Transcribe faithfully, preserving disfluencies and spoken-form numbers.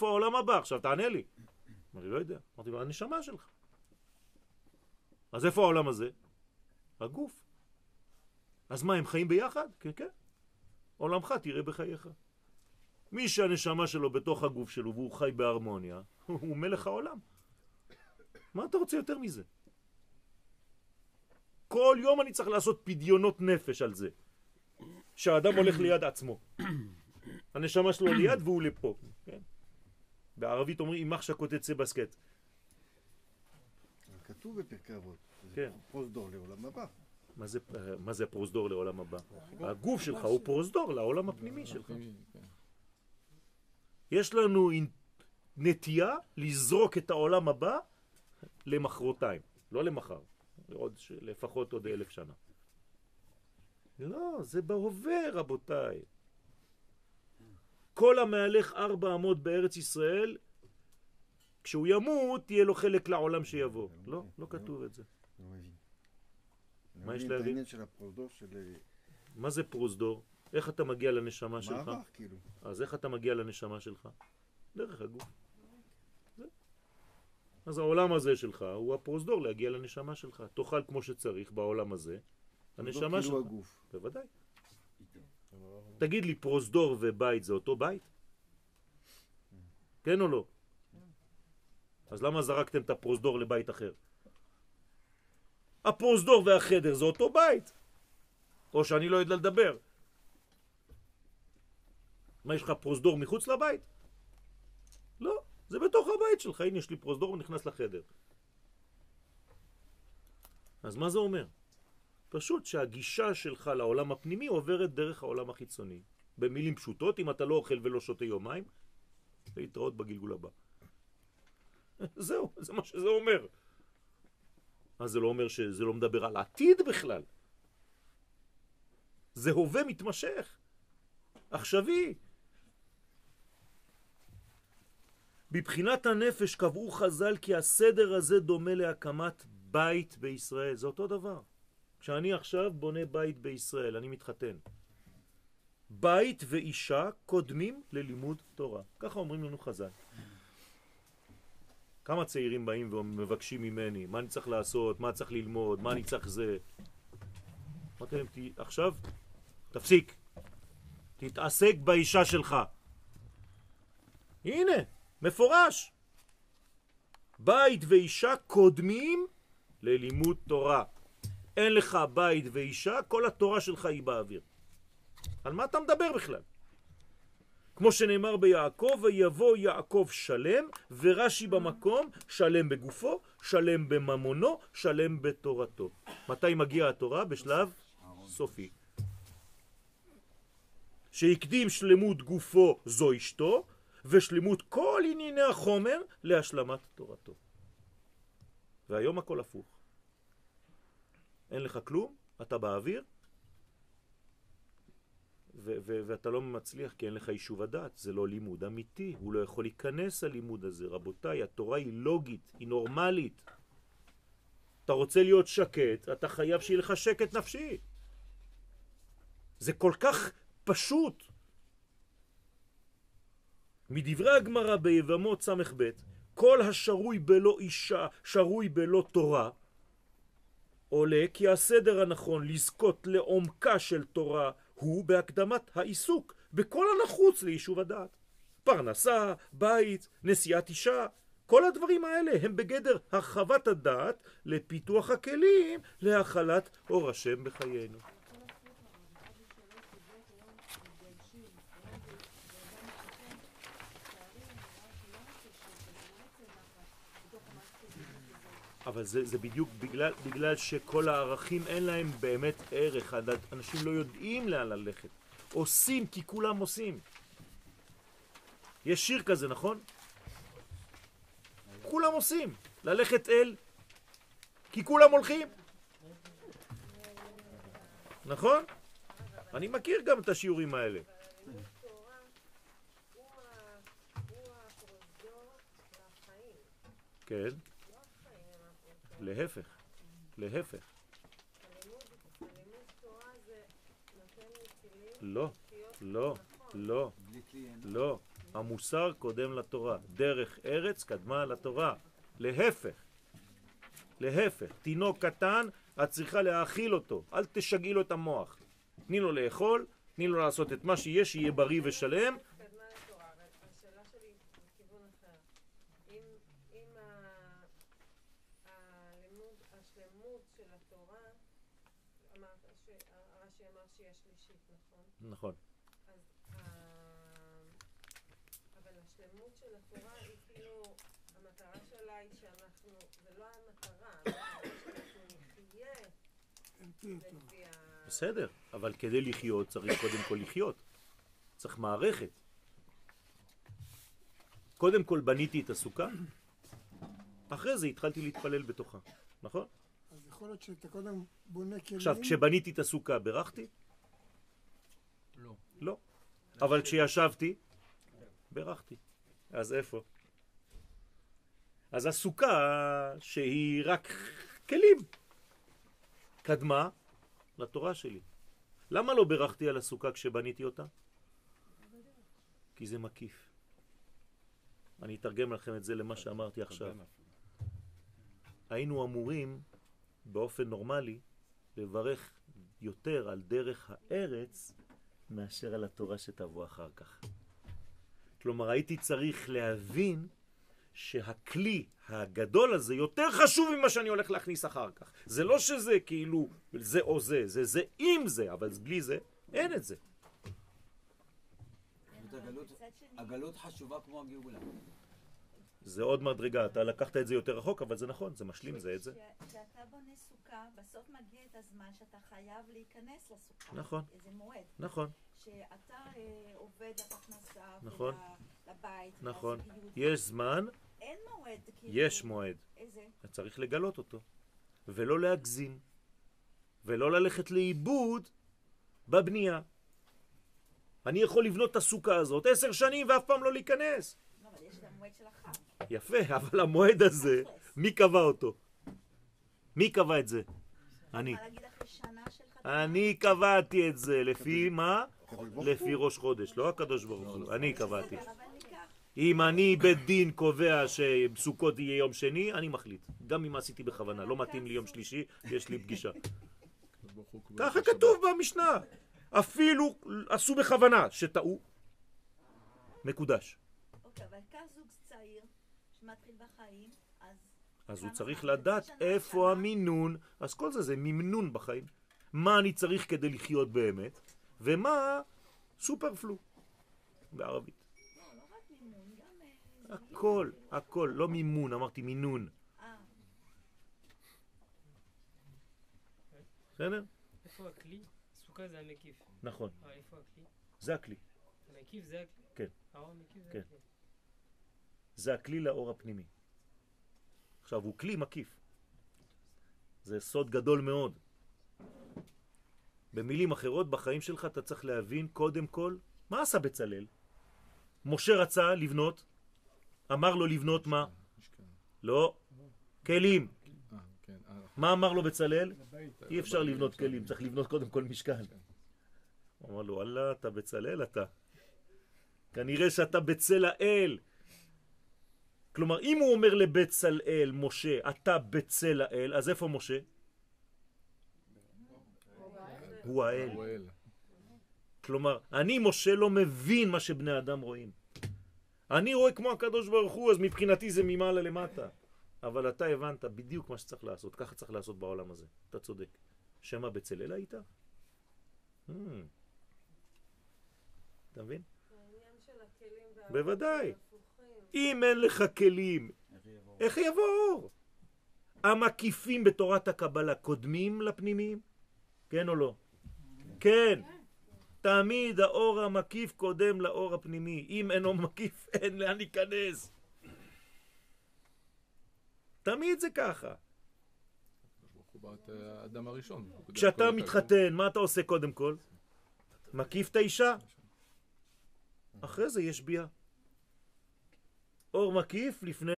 איפה העולם הבא? עכשיו תענה לי. אני לא יודע. אמרתי לו, הנשמה שלך. אז איפה העולם הזה? הגוף. אז מה, הם חיים ביחד? כן, כן. עולמך תראה בחייך. מי שהנשמה שלו בתוך הגוף שלו והוא חי בהרמוניה, הוא מלך העולם. מה אתה רוצה יותר מזה? כל יום אני צריך לעשות פדיונות נפש על זה. שהאדם הולך ליד עצמו. הנשמה שלו ליד והוא לפה. כן? בערבית אומרים, אימח שקוט יצא בסקט. כתוב בפרקי אבות. כן. זה פרוזדור לעולם הבא. מה זה, מה זה הפרוזדור לעולם הבא? הגוף שלך הוא פרוזדור לעולם הפנימי שלך. יש לנו נטייה לזרוק את העולם הבא למחרתיים, לא למחר, עוד, לפחות עוד אלף שנה. לא, זה בהווה רבותיי. כל המהלך ארבע אמות בארץ ישראל, כשהוא ימות, תהיה לו חלק לעולם שיבוא. לא, לא כתוב את זה. לא מבין. מה יש להבין? להבין? את העניין של הפרוזדור של... מה זה פרוזדור? איך אתה מגיע לנשמה שלך? מעבר, כאילו. אז איך אתה מגיע לנשמה שלך? דרך הגוף. זה. אז העולם הזה שלך הוא הפרוזדור להגיע לנשמה שלך. תאכל כמו שצריך בעולם הזה. הנשמה שלך. כאילו הגוף. בוודאי. תגיד לי, פרוזדור ובית זה אותו בית? כן או לא? אז למה זרקתם את הפרוזדור לבית אחר? הפרוזדור והחדר זה אותו בית. או שאני לא יודע לדבר. מה, יש לך פרוזדור מחוץ לבית? לא, זה בתוך הבית שלך. הנה, יש לי פרוזדור ונכנס לחדר. אז מה זה אומר? פשוט שהגישה שלך לעולם הפנימי עוברת דרך העולם החיצוני. במילים פשוטות, אם אתה לא אוכל ולא שותה יומיים, להתראות בגלגול הבא. זהו, זה מה שזה אומר. אז זה לא אומר שזה לא מדבר על עתיד בכלל. זה הווה מתמשך. עכשווי. בבחינת הנפש קבעו חז"ל כי הסדר הזה דומה להקמת בית בישראל. זה אותו דבר. כשאני עכשיו בונה בית בישראל, אני מתחתן. בית ואישה קודמים ללימוד תורה. ככה אומרים לנו חז"ל. כמה צעירים באים ומבקשים ממני, מה אני צריך לעשות, מה צריך ללמוד, מה אני צריך זה. אמרתי להם, עכשיו תפסיק. תתעסק באישה שלך. הנה, מפורש. בית ואישה קודמים ללימוד תורה. אין לך בית ואישה, כל התורה שלך היא באוויר. על מה אתה מדבר בכלל? כמו שנאמר ביעקב, ויבוא יעקב שלם, ורש"י במקום, שלם בגופו, שלם בממונו, שלם בתורתו. מתי מגיעה התורה? בשלב סופי. שהקדים שלמות גופו זו אשתו, ושלמות כל ענייני החומר להשלמת תורתו. והיום הכל הפוך. אין לך כלום, אתה באוויר, ו- ו- ואתה לא מצליח כי אין לך יישוב הדעת. זה לא לימוד אמיתי, הוא לא יכול להיכנס הלימוד הזה. רבותיי, התורה היא לוגית, היא נורמלית. אתה רוצה להיות שקט, אתה חייב שיהיה לך שקט נפשי. זה כל כך פשוט. מדברי הגמרא ביבמות סמך ב', כל השרוי בלא אישה, שרוי בלא תורה, עולה כי הסדר הנכון לזכות לעומקה של תורה הוא בהקדמת העיסוק בכל הנחוץ ליישוב הדעת. פרנסה, בית, נשיאת אישה, כל הדברים האלה הם בגדר הרחבת הדעת לפיתוח הכלים להחלת אור השם בחיינו. אבל זה, זה בדיוק בגלל, בגלל שכל הערכים אין להם באמת ערך. אנשים לא יודעים לאן ללכת. עושים כי כולם עושים. יש שיר כזה, נכון? כולם עושים. ללכת אל כי כולם הולכים. נכון? אני מכיר גם את השיעורים האלה. כן. להפך, להפך. לא, לא, לא, לא. המוסר קודם לתורה. דרך ארץ קדמה לתורה. להפך. להפך. תינוק קטן, את צריכה להאכיל אותו. אל תשגעי לו את המוח. תני לו לאכול, תני לו לעשות את מה שיש, שיהיה בריא ושלם. קדמה לתורה, אבל השאלה שלי בכיוון אחר. אם, אם ה- הלימוד, השלמות של התורה, אמרת, ש- הרש"י אמר שהיא השלישית, נכון? נכון. אז ה- אבל השלמות של התורה היא כאילו, המטרה שלה היא שאנחנו, זה לא המטרה, המטרה שאנחנו נחיה לפי ה... בסדר, אבל כדי לחיות צריך קודם כל לחיות. צריך מערכת. קודם כל בניתי את הסוכה, אחרי זה התחלתי להתפלל בתוכה, נכון? אז יכול להיות שאתה קודם בונה כלים. עכשיו, כשבניתי את הסוכה, ברכתי? לא. לא. אבל כשישבתי, ברכתי. אז איפה? אז הסוכה שהיא רק כלים, קדמה לתורה שלי. למה לא ברכתי על הסוכה כשבניתי אותה? כי זה מקיף. אני אתרגם לכם את זה למה שאמרתי עכשיו. היינו אמורים באופן נורמלי לברך יותר על דרך הארץ מאשר על התורה שתבוא אחר כך. כלומר, הייתי צריך להבין שהכלי הגדול הזה יותר חשוב ממה שאני הולך להכניס אחר כך. זה לא שזה כאילו זה או זה, זה זה עם זה, אבל בלי זה אין את זה. הגלות חשובה כמו הגאולה. זה עוד מדרגה, אתה לקחת את זה יותר רחוק, אבל זה נכון, זה משלים זה את זה. כשאתה בונה סוכה, בסוף מגיע את הזמן שאתה חייב להיכנס לסוכה. נכון. איזה מועד. נכון. שאתה אה, עובד לפרנסה, נכון. לבית, נכון. לזוגיות. יש זמן, אין מועד. כאילו, יש מועד. איזה? צריך לגלות אותו, ולא להגזים, ולא ללכת לאיבוד בבנייה. אני יכול לבנות את הסוכה הזאת עשר שנים ואף פעם לא להיכנס. לא, אבל יש גם מועד של החג. יפה, אבל המועד הזה, מי קבע אותו? מי קבע את זה? אני. אני יכולה להגיד אחרי שנה של חתונה. אני קבעתי את זה, לפי מה? לפי ראש חודש, לא הקדוש ברוך הוא, אני קבעתי. אבל ניקח. אם אני בית דין קובע שסוכות יהיה יום שני, אני מחליט. גם אם עשיתי בכוונה, לא מתאים לי יום שלישי, יש לי פגישה. ככה כתוב במשנה. אפילו עשו בכוונה שטעו. מקודש. אוקיי, אבל כך זוג צעיר שמתחיל בחיים, אז... אז הוא צריך לדעת איפה המינון. אז כל זה זה ממנון בחיים. מה אני צריך כדי לחיות באמת, ומה סופרפלו בערבית. לא, לא רק מימון, גם... אה, הכל, הכל, לא מימון, אמרתי מינון. אה, בסדר? איפה הכלי? סוכה זה המקיף. נכון, אה, איפה הכלי? זה הכלי. המקיף זה הכלי? כן. האור המקיף זה כן. הכלי. זה הכלי לאור הפנימי. עכשיו, הוא כלי מקיף. זה סוד גדול מאוד. במילים אחרות, בחיים שלך אתה צריך להבין קודם כל, מה עשה בצלאל? משה רצה לבנות, אמר לו לבנות מה? לא, כלים. מה אמר לו בצלאל? אי אפשר לבנות כלים, צריך לבנות קודם כל משכן. הוא אמר לו, אללה, אתה בצלאל אתה. כנראה שאתה בצל האל. כלומר, אם הוא אומר לבצלאל, משה, אתה בצל האל, אז איפה משה? הוא האל. כלומר, אני משה לא מבין מה שבני אדם רואים. אני רואה כמו הקדוש ברוך הוא, אז מבחינתי זה ממעלה למטה. אבל אתה הבנת בדיוק מה שצריך לעשות, ככה צריך לעשות בעולם הזה. אתה צודק. שמה בצלאל היית? Hmm. אתה מבין? העניין של הכלים והאור בוודאי. הפוכים. אם אין לך כלים, איך יבוא אור? המקיפים בתורת הקבלה קודמים לפנימיים? כן או לא? כן. תמיד האור המקיף קודם לאור הפנימי. אם אינו מקיף, אין לאן להיכנס. תמיד זה ככה. האדם הראשון. כשאתה מתחתן, מה אתה עושה קודם כל? מקיף את האישה. אחרי זה יש ביאה. אור מקיף לפני